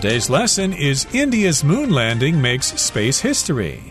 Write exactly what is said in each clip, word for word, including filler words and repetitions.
Today's lesson is India's moon landing makes space history.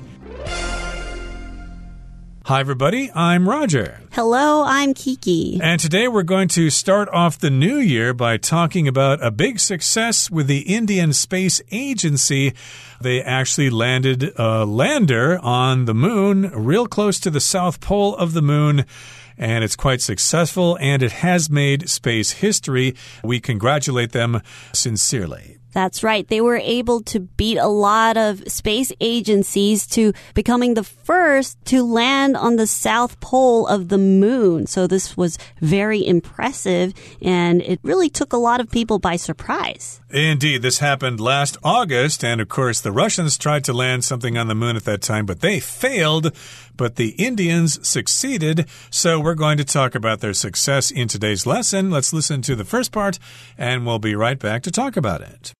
Hi, everybody. I'm Roger. Hello, I'm Kiki. And today we're going to start off the new year by talking about a big success with the Indian Space Agency. They actually landed a lander on the moon, real close to the South Pole of the moon. And it's quite successful, and it has made space history. We congratulate them sincerely. That's right. They were able to beat a lot of space agencies to becoming the first to land on the South Pole of the moon. So this was very impressive, and it really took a lot of people by surprise. Indeed, this happened last August, and of course the Russians tried to land something on the moon at that time, but they failed. But the Indians succeeded, so we're going to talk about their success in today's lesson. Let's listen to the first part, and we'll be right back to talk about it.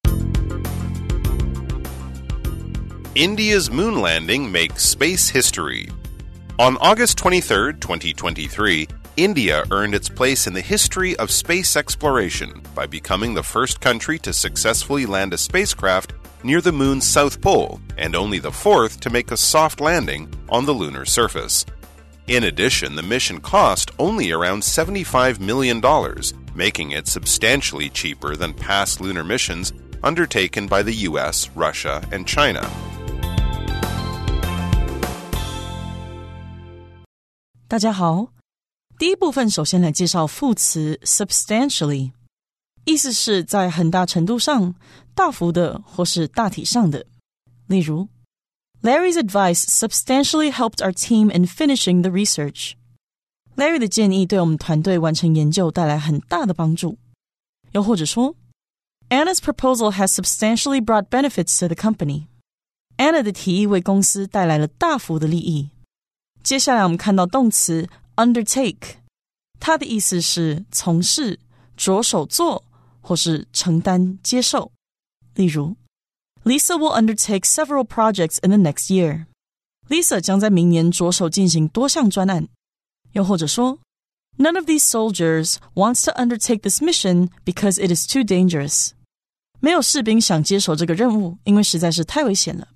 India's moon landing makes space history. On August twenty-third, twenty twenty-three, India earned its place in the history of space exploration by becoming the first country to successfully land a spacecraft near the moon's south pole, and only the fourth to make a soft landing on the lunar surface. In addition, the mission cost only around seventy-five million dollars, making it substantially cheaper than past lunar missions undertaken by the U S, Russia, and China. 大家好，第一部分首先来介紹副詞 substantially， 意思是在很大程度上、大幅的或是大體上的。例如 Larry's advice substantially helped our team in finishing the research. Larry 的建議對我們團隊完成研究帶來很大的幫助。又或者說 Anna's proposal has substantially brought benefits to the company. Anna 的提議為公司帶來了大幅的利益。接下來我們看到動詞 undertake， 它的意思是從事、着手做或是承擔、接受。例如 Lisa will undertake several projects in the next year. Lisa 將在明年着手進行多項專案。又或者說 None of these soldiers wants to undertake this mission because it is too dangerous. 沒有士兵想接手這個任務，因為實在是太危險了。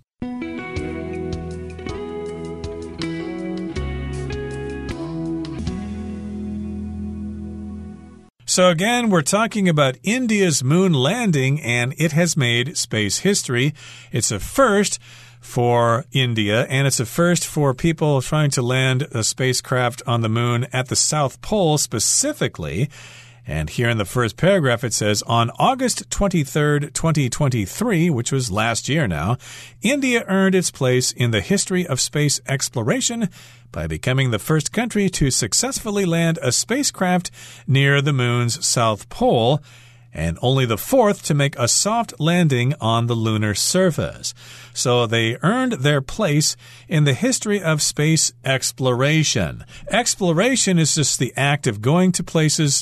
So again, we're talking about India's moon landing, and it has made space history. It's a first for India, and it's a first for people trying to land a spacecraft on the moon at the South Pole specifically. And here in the first paragraph, it says, on August twenty-third, twenty twenty-three, which was last year now, India earned its place in the history of space exploration by becoming the first country to successfully land a spacecraft near the moon's south pole, and only the fourth to make a soft landing on the lunar surface. So they earned their place in the history of space exploration. Exploration is just the act of going to places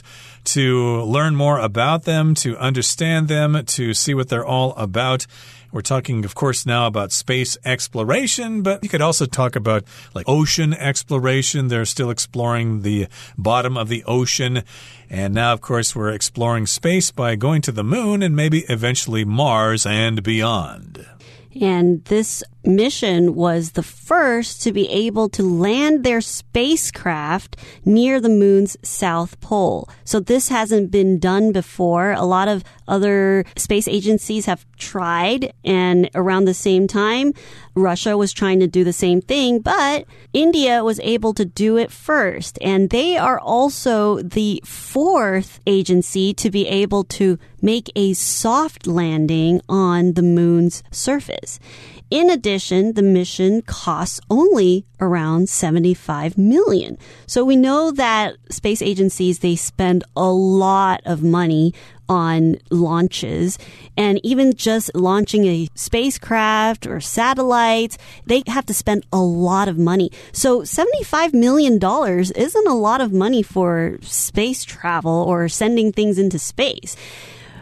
to learn more about them, to understand them, to see what they're all about. We're talking, of course, now about space exploration, but you could also talk about like ocean exploration. They're still exploring the bottom of the ocean. And now, of course, we're exploring space by going to the moon and maybe eventually Mars and beyond. And this mission was the first to be able to land their spacecraft near the moon's south pole. So this hasn't been done before. A lot of other space agencies have tried, and around the same time, Russia was trying to do the same thing, but India was able to do it first. And they are also the fourth agency to be able to make a soft landing on the moon's surface. In addition, the mission costs only around seventy-five million dollars. So we know that space agencies, they spend a lot of money on launches, and even just launching a spacecraft or satellites, they have to spend a lot of money. So seventy-five million dollars isn't a lot of money for space travel or sending things into space.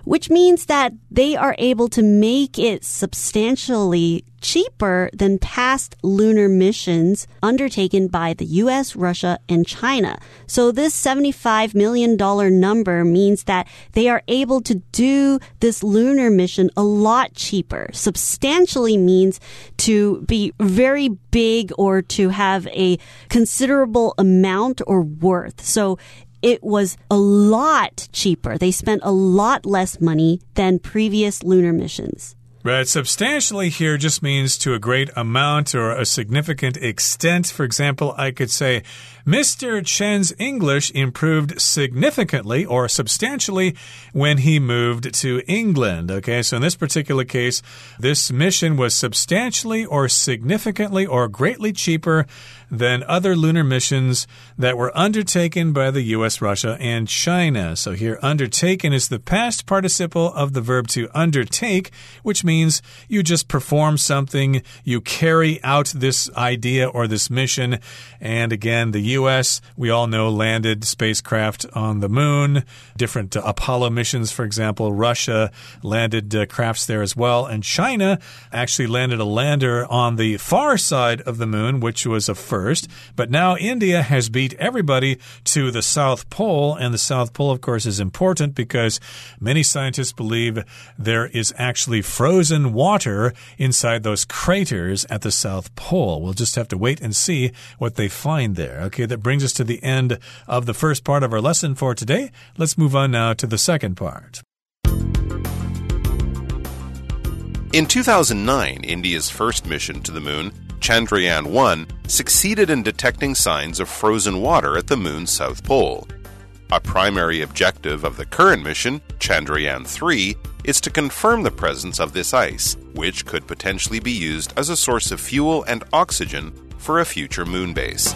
which means that they are able to make it substantially cheaper than past lunar missions undertaken by the U S, Russia, and China. So this seventy-five million dollars number means that they are able to do this lunar mission a lot cheaper. Substantially means to be very big or to have a considerable amount or worth. So it was a lot cheaper. They spent a lot less money than previous lunar missions. Right. Substantially here just means to a great amount or a significant extent. For example, I could say, Mister Chen's English improved significantly or substantially when he moved to England. Okay, so in this particular case, this mission was substantially or significantly or greatly cheaper than other lunar missions that were undertaken by the U S, Russia, and China. So here, undertaken is the past participle of the verb to undertake, which means you just perform something, you carry out this idea or this mission. And again, the U S, we all know, landed spacecraft on the moon. Different uh, Apollo missions, for example. Russia landed uh, crafts there as well. And China actually landed a lander on the far side of the moon, which was a first. But now India has beat everybody to the South Pole. And the South Pole, of course, is important because many scientists believe there is actually frozen water inside those craters at the South Pole. We'll just have to wait and see what they find there. Okay, that brings us to the end of the first part of our lesson for today. Let's move on now to the second part. In two thousand nine, India's first mission to the moon, Chandrayaan one, succeeded in detecting signs of frozen water at the moon's south pole. A primary objective of the current mission, Chandrayaan three, is to confirm the presence of this ice, which could potentially be used as a source of fuel and oxygen for a future moon base.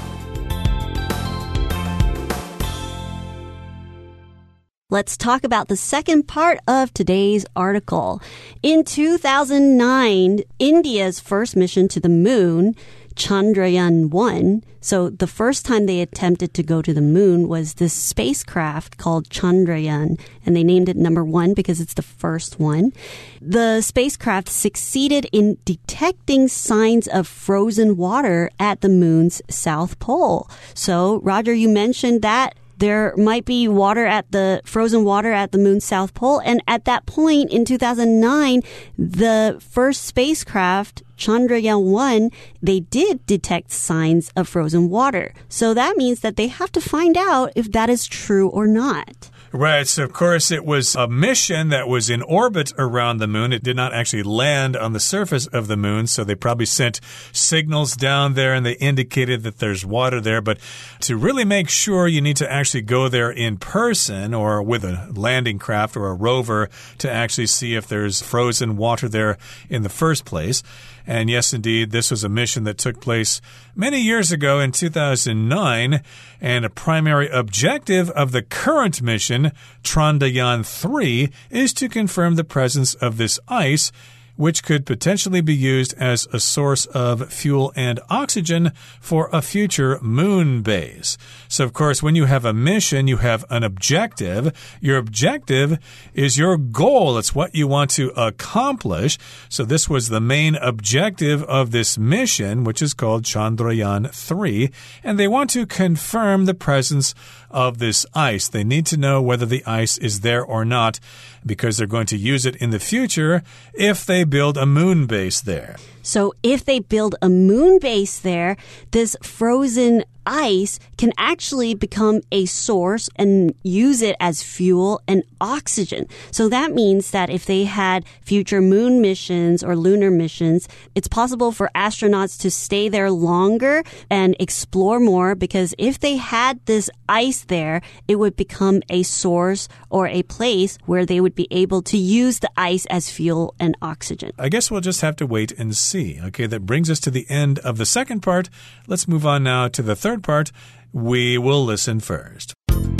Let's talk about the second part of today's article. In two thousand nine, India's first mission to the moon, Chandrayaan one, so the first time they attempted to go to the moon was this spacecraft called Chandrayaan, and they named it number one because it's the first one. The spacecraft succeeded in detecting signs of frozen water at the moon's south pole. So, Roger, you mentioned that there might be water at the frozen water at the moon's south pole. And at that point in two thousand nine, the first spacecraft, Chandrayaan one, they did detect signs of frozen water. So that means that they have to find out if that is true or not. Right, so of course it was a mission that was in orbit around the moon. It did not actually land on the surface of the moon, so they probably sent signals down there and they indicated that there's water there. But to really make sure, you need to actually go there in person or with a landing craft or a rover to actually see if there's frozen water there in the first place. And yes, indeed, this was a mission that took place many years ago in two thousand nine. And a primary objective of the current mission, Chandrayaan three, is to confirm the presence of this ice, which could potentially be used as a source of fuel and oxygen for a future moon base. So, of course, when you have a mission, you have an objective. Your objective is your goal. It's what you want to accomplish. So this was the main objective of this mission, which is called Chandrayaan three. And they want to confirm the presence of this ice. They need to know whether the ice is there or not, because they're going to use it in the future if they build a moon base there. So if they build a moon base there, this frozen ice can actually become a source and use it as fuel and oxygen. So that means that if they had future moon missions or lunar missions, it's possible for astronauts to stay there longer and explore more, because if they had this ice there, it would become a source or a place where they would be able to use the ice as fuel and oxygen. I guess we'll just have to wait and see. Okay, that brings us to the end of the second part. Let's move on now to the third part. We will listen first.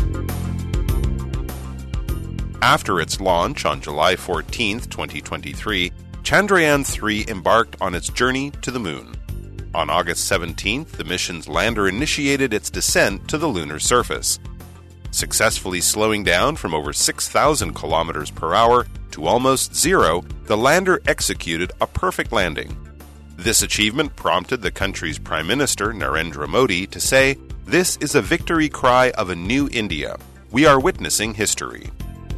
After its launch on July fourteenth, twenty twenty-three, Chandrayaan three embarked on its journey to the moon. On August seventeenth, the mission's lander initiated its descent to the lunar surface. Successfully slowing down from over six thousand kilometers per hour to almost zero, the lander executed a perfect landing. This achievement prompted the country's Prime Minister, Narendra Modi, to say, "This is a victory cry of a new India. We are witnessing history."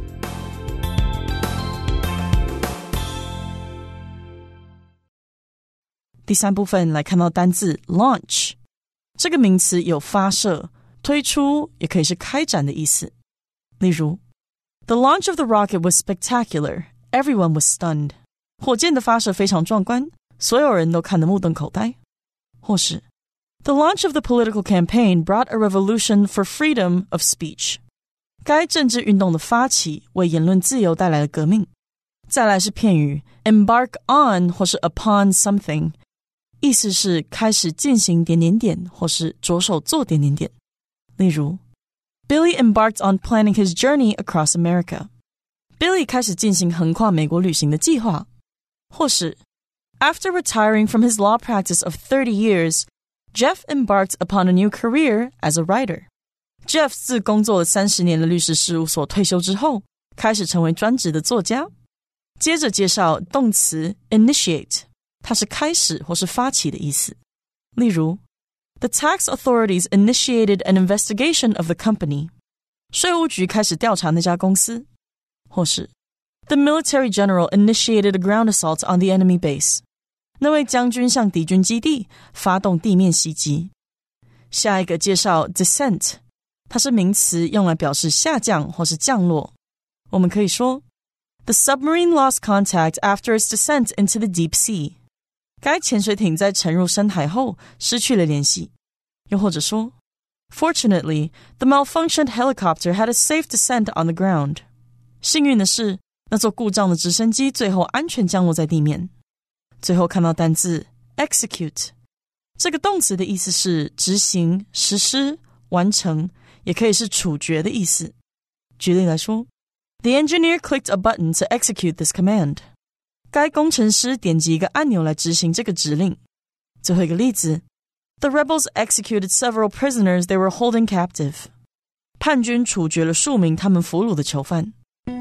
第三部分来看到单字 launch， 这个名詞有發射、推出，也可以是開展的意思。例如 The launch of the rocket was spectacular. Everyone was stunned. 火箭的發射非常壯觀，所有人都看得目瞪口呆。或是 The launch of the political campaign brought a revolution for freedom of speech. 該政治運動的發起為言論自由帶來了革命。再來是片語 embark on 或是 upon something， 意思是開始進行點點點，或是着手做點點點。例如 Billy embarked on planning his journey across America. Billy 開始進行橫跨美國旅行的計劃。或是 After retiring from his law practice of thirty years, Jeff embarked upon a new career as a writer. Jeff 自工作了三十年的律師事務所退休之後，開始成為專職的作家。接着介紹動詞 initiate， 它是開始或是發起的意思。例如 The tax authorities initiated an investigation of the company. 稅務局開始調查那家公司。或是 The military general initiated a ground assault on the enemy base. 那位將軍向敵軍基地發動地面襲擊。下一個介紹 descent， 它是名詞，用來表示下降或是降落。我們可以說The submarine lost contact after its descent into the deep sea. 該潛水艇在沉入深海後失去了聯繫。又或者說 Fortunately, the malfunctioned helicopter had a safe descent on the ground. 幸運的是，那座故障的直升機最後安全降落在地面。最後看到單字 execute， 這個動詞的意思是執行、實施、完成，也可以是處決的意思。舉例來說The engineer clicked a button to execute this command. 該工程師點擊一個按鈕來執行這個指令。最後一個例子 The rebels executed several prisoners they were holding captive. 叛軍處決了數名他們俘虜的囚犯。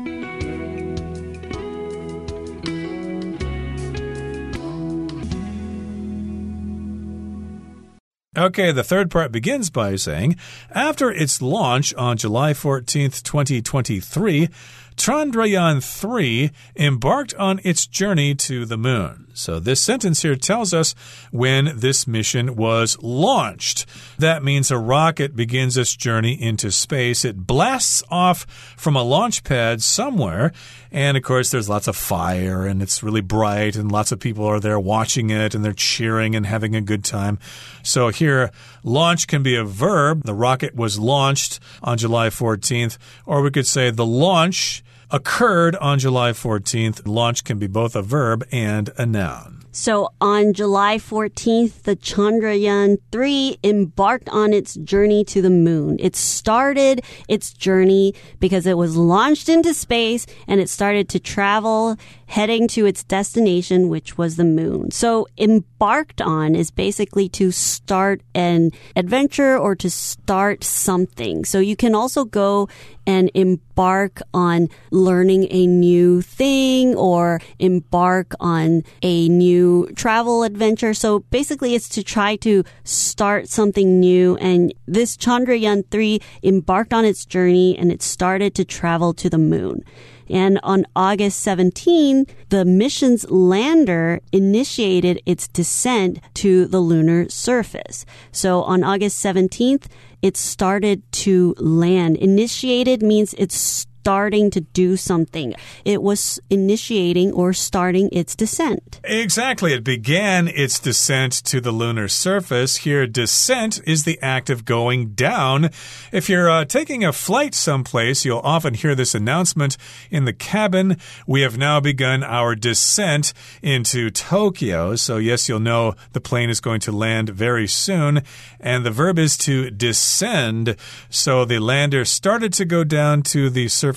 Okay, the third part begins by saying, after its launch on July fourteenth, twenty twenty-three, Chandrayaan three embarked on its journey to the moon. So this sentence here tells us when this mission was launched. That means a rocket begins its journey into space. It blasts off from a launch pad somewhere. And of course, there's lots of fire and it's really bright and lots of people are there watching it and they're cheering and having a good time. So here, launch can be a verb. The rocket was launched on July fourteenth. Or we could say the launch occurred on July fourteenth. Launch can be both a verb and a noun. So on July fourteenth, the Chandrayaan three embarked on its journey to the moon. It started its journey because it was launched into space and it started to travel heading to its destination, which was the moon. So embarked on is basically to start an adventure or to start something. So you can also go and embark on learning a new thing or embark on a new travel adventure. So basically it's to try to start something new. And this Chandrayaan three embarked on its journey and it started to travel to the moon. And on August seventeenth, the mission's lander initiated its descent to the lunar surface. So on August seventeenth, it started to land. Initiated means it's starting to do something. It was initiating or starting its descent. Exactly. It began its descent to the lunar surface. Here, descent is the act of going down. If you're uh, taking a flight someplace, you'll often hear this announcement in the cabin. We have now begun our descent into Tokyo. So yes, you'll know the plane is going to land very soon. And the verb is to descend. So the lander started to go down to the surface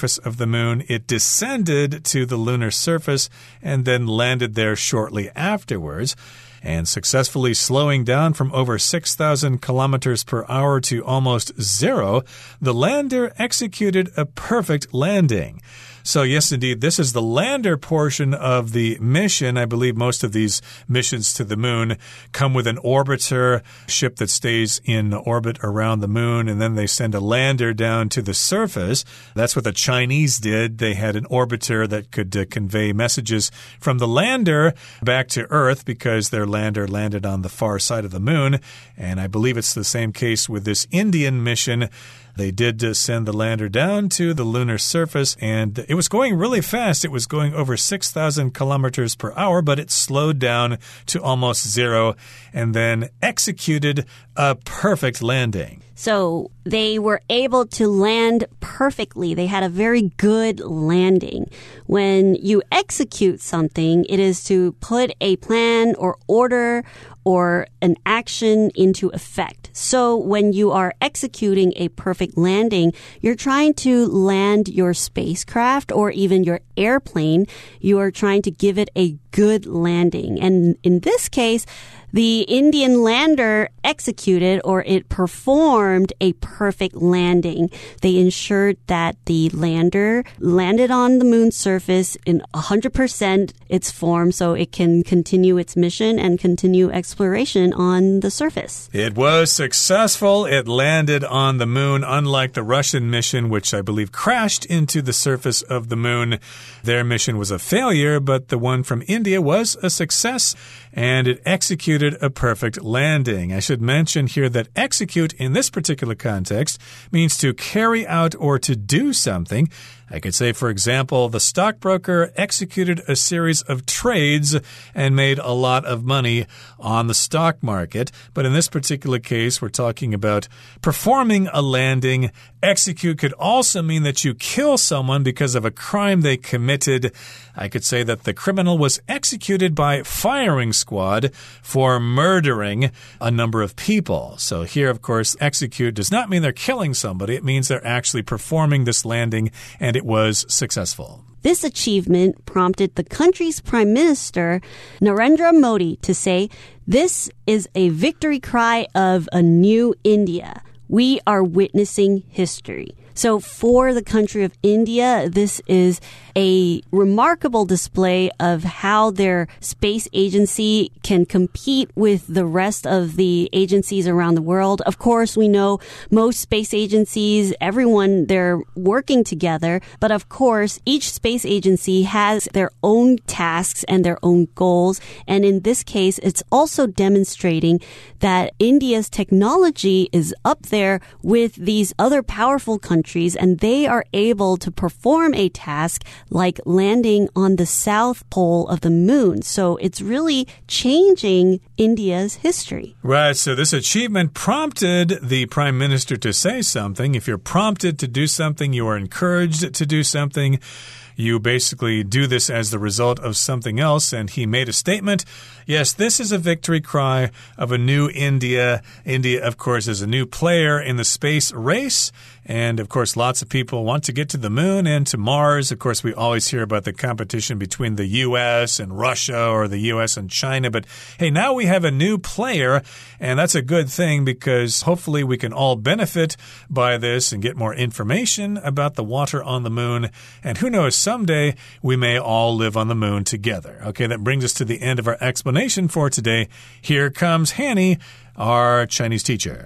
surface of the moon, it descended to the lunar surface and then landed there shortly afterwards. And successfully slowing down from over six thousand kilometers per hour to almost zero, the lander executed a perfect landing. So yes, indeed, this is the lander portion of the mission. I believe most of these missions to the moon come with an orbiter, ship that stays in orbit around the moon, and then they send a lander down to the surface. That's what the Chinese did. They had an orbiter that could uh, convey messages from the lander back to Earth because their lander landed on the far side of the moon. And I believe it's the same case with this Indian mission. They did uh, send the lander down to the lunar surface, and it was going really fast. It was going over six thousand kilometers per hour, but it slowed down to almost zero and then executed a perfect landing. So they were able to land perfectly. They had a very good landing. When you execute something, it is to put a plan or order or an action into effect. So when you are executing a perfect landing, you're trying to land your spacecraft or even your airplane. You are trying to give it a good landing. And in this case, the Indian lander executed or it performed a perfect landing. They ensured that the lander landed on the moon's surface in one hundred percent its form so it can continue its mission and continue exploration on the surface. It was successful. It landed on the moon, unlike the Russian mission, which I believe crashed into the surface of the moon. Their mission was a failure, but the one from India was a success, and it executed a perfect landing. I should mention here that execute in this particular context means to carry out or to do something. I could say, for example, the stockbroker executed a series of trades and made a lot of money on the stock market. But in this particular case, we're talking about performing a landing. Execute could also mean that you kill someone because of a crime they committed. I could say that the criminal was executed by firing squad for murdering a number of people. So here, of course, execute does not mean they're killing somebody. It means they're actually performing this landing, and it was successful. This achievement prompted the country's Prime Minister, Narendra Modi, to say, "This is a victory cry of a new India. We are witnessing history." So for the country of India, this is a remarkable display of how their space agency can compete with the rest of the agencies around the world. Of course, we know most space agencies, everyone, they're working together. But of course, each space agency has their own tasks and their own goals. And in this case, it's also demonstrating that India's technology is up there with these other powerful countries, and they are able to perform a task like landing on the south pole of the moon. So it's really changing India's history. Right. So this achievement prompted the Prime Minister to say something. If you're prompted to do something, you are encouraged to do something. You basically do this as the result of something else, and he made a statement. Yes, this is a victory cry of a new India. India, of course, is a new player in the space race. And, of course, lots of people want to get to the moon and to Mars. Of course, we always hear about the competition between the U S and Russia or the U S and China. But, hey, now we have a new player, and that's a good thing because hopefully we can all benefit by this and get more information about the water on the moon. And who knows, someday we may all live on the moon together. Okay, that brings us to the end of our explanation for today. Here comes Hanny, our Chinese teacher.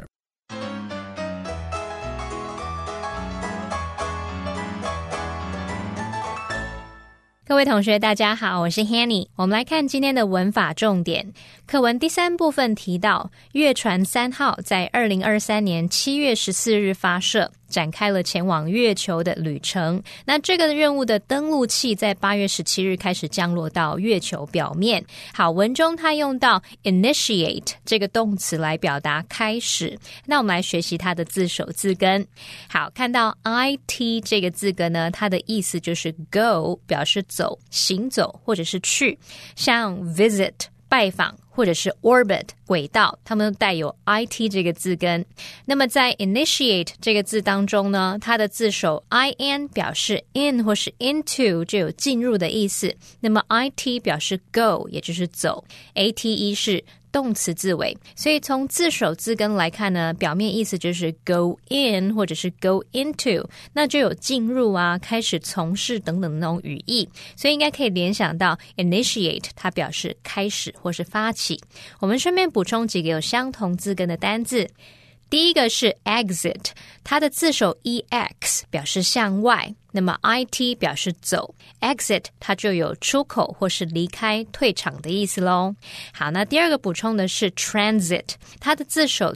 各位同学大家好，我是 Hanny。 我们来看今天的文法重点。課文第三部分提到，月船三號在二零二三年七月十四日發射，展開了前往月球的旅程。那這個任務的登陸器在八月十七日開始降落到月球表面。好，文中它用到 initiate 這個動詞來表達開始。那我們來學習它的字首字根。好，看到 it 這個字根呢，它的意思就是 go 表示走、行走或者是去，像 visit 拜訪或者是 orbit 軌道，它們都帶有 it 這個字根。那麼在 initiate 這個字當中呢，它的字首 in 表示 in 或是 into 就有進入的意思，那麼 it 表示 go 也就是走， ate 是動詞字尾，所以從字首字根來看呢，表面意思就是 go in 或者是 go into， 那就有進入啊，開始從事等等的那種語義，所以應該可以聯想到 initiate 它表示開始或是發起。我們順便補充幾個有相同字根的單字。第一個是 exit， 它的字首 ex 表示向外，那麼 it 表示走， exit 它就有出口或是離開退場的意思咯。好，那第二個補充的是 transit， 它的字首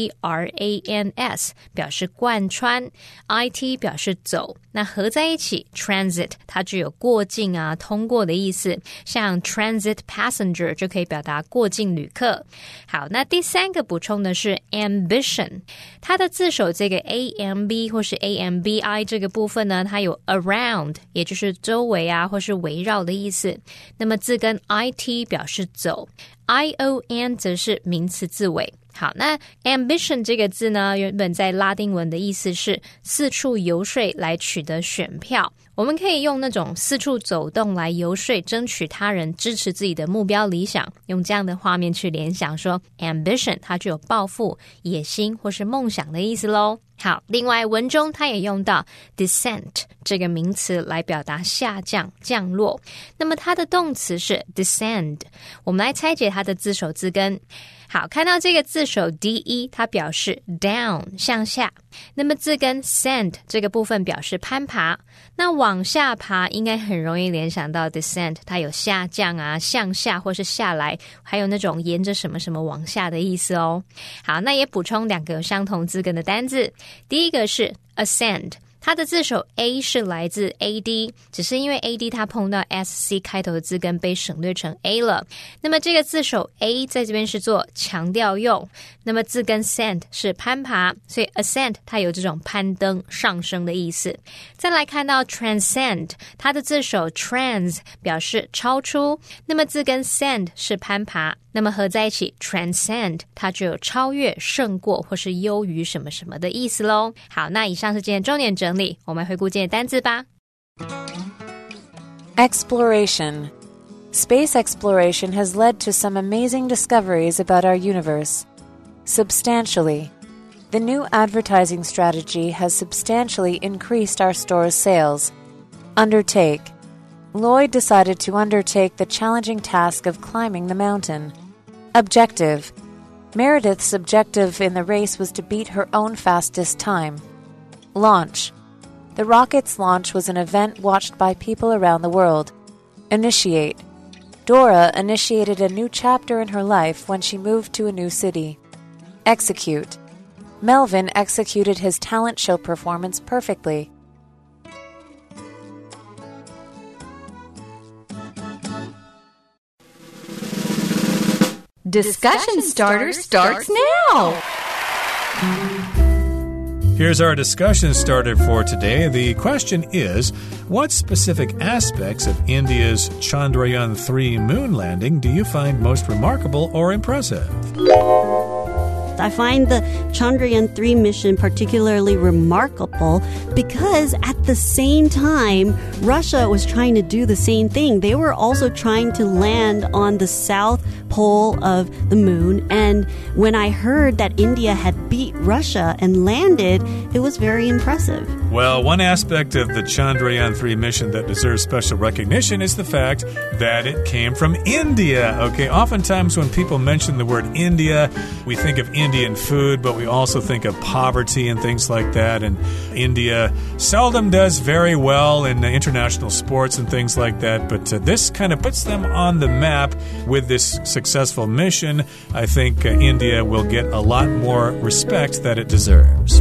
trans 表示貫穿， it 表示走，那合在一起 transit 它就有過境啊通過的意思，像 transit passenger 就可以表達過境旅客。好，那第三個補充的是 ambition，它的字首这個 amb 或是 ambi 這個部分呢，它有 around 也就是周圍啊或是圍繞的意思，那麼字根 it 表示走， ion 則是名詞字尾。好，那 ambition 這個字呢，原本在拉丁文的意思是四處遊說來取得選票，我們可以用那種四處走動來遊說爭取他人支持自己的目標理想，用這樣的畫面去聯想說 ambition 它具有抱負、野心或是夢想的意思咯。好，另外文中它也用到 descent 這個名詞來表達下降、降落，那麼它的動詞是 descend， 我們來拆解它的字首字根。好，看到這個字首 de 它表示 down 向下，那麼字根 send 這個部分表示攀爬，那往下爬應該很容易聯想到 descent 它有下降啊、向下或是下來，還有那種沿着什麼什麼往下的意思哦。好，那也補充兩個有相同字根的單字，第一個是 ascend，它的字首 A 是來自 ad， 只是因為 ad 它碰到 sc 開頭的字根被省略成 a 了，那麼這個字首 A 在這邊是做強調用，那麼字根 send 是攀爬，所以 ascend 它有這種攀登上升的意思。再來看到 transcend， 它的字首 trans 表示超出，那麼字根 send 是攀爬，那麼合在一起 transcend 它就有超越、勝過或是優於什麼什麼的意思咯。好，那以上是今天重點整理，我們回顧今天的單字吧。 Exploration. Space exploration has led to some amazing discoveries about our universe. Substantially. The new advertising strategy has substantially increased our store's sales. Undertake. Lloyd decided to undertake the challenging task of climbing the mountain. Objective. Meredith's objective in the race was to beat her own fastest time. Launch. The rocket's launch was an event watched by people around the world. Initiate. Dora initiated a new chapter in her life when she moved to a new city. Execute. Melvin executed his talent show performance perfectly. Discussion Starter starts now! Here's our discussion starter for today. The question is, what specific aspects of India's Chandrayaan three moon landing do you find most remarkable or impressive? I find the Chandrayaan three mission particularly remarkable because at the same time, Russia was trying to do the same thing. They were also trying to land on the south pole of the moon. And when I heard that India had beat Russia and landed, it was very impressive. Well, one aspect of the Chandrayaan three mission that deserves special recognition is the fact that it came from India. Okay, oftentimes when people mention the word India, we think of Indian food, but we also think of poverty and things like that. And India seldom does very well in international sports and things like that. But uh, this kind of puts them on the map with this successful mission. I think uh, India will get a lot more respect that it deserves.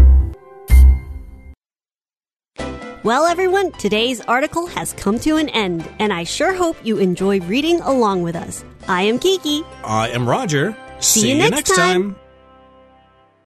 Well, everyone, today's article has come to an end, and I sure hope you enjoy reading along with us. I am Kiki. I am Roger. See, See you next, next time. time.